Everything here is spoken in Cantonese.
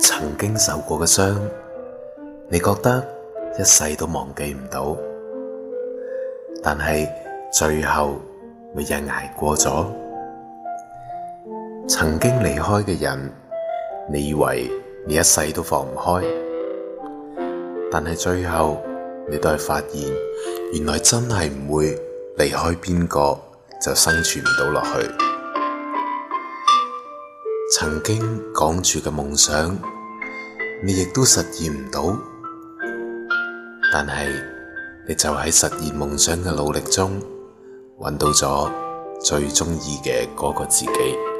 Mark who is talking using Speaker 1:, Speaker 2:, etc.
Speaker 1: 曾經受過嘅傷，你覺得一世都忘記唔到，但係最後每日捱過咗。曾經離開嘅人，你以為你一世都放唔開，但係最後你都係發現，原來真係唔會離開邊個就生存唔到落去。曾經講住嘅夢想，你亦都實現唔到，但係你就喺實現夢想嘅努力中，揾到咗最鍾意嘅嗰個自己。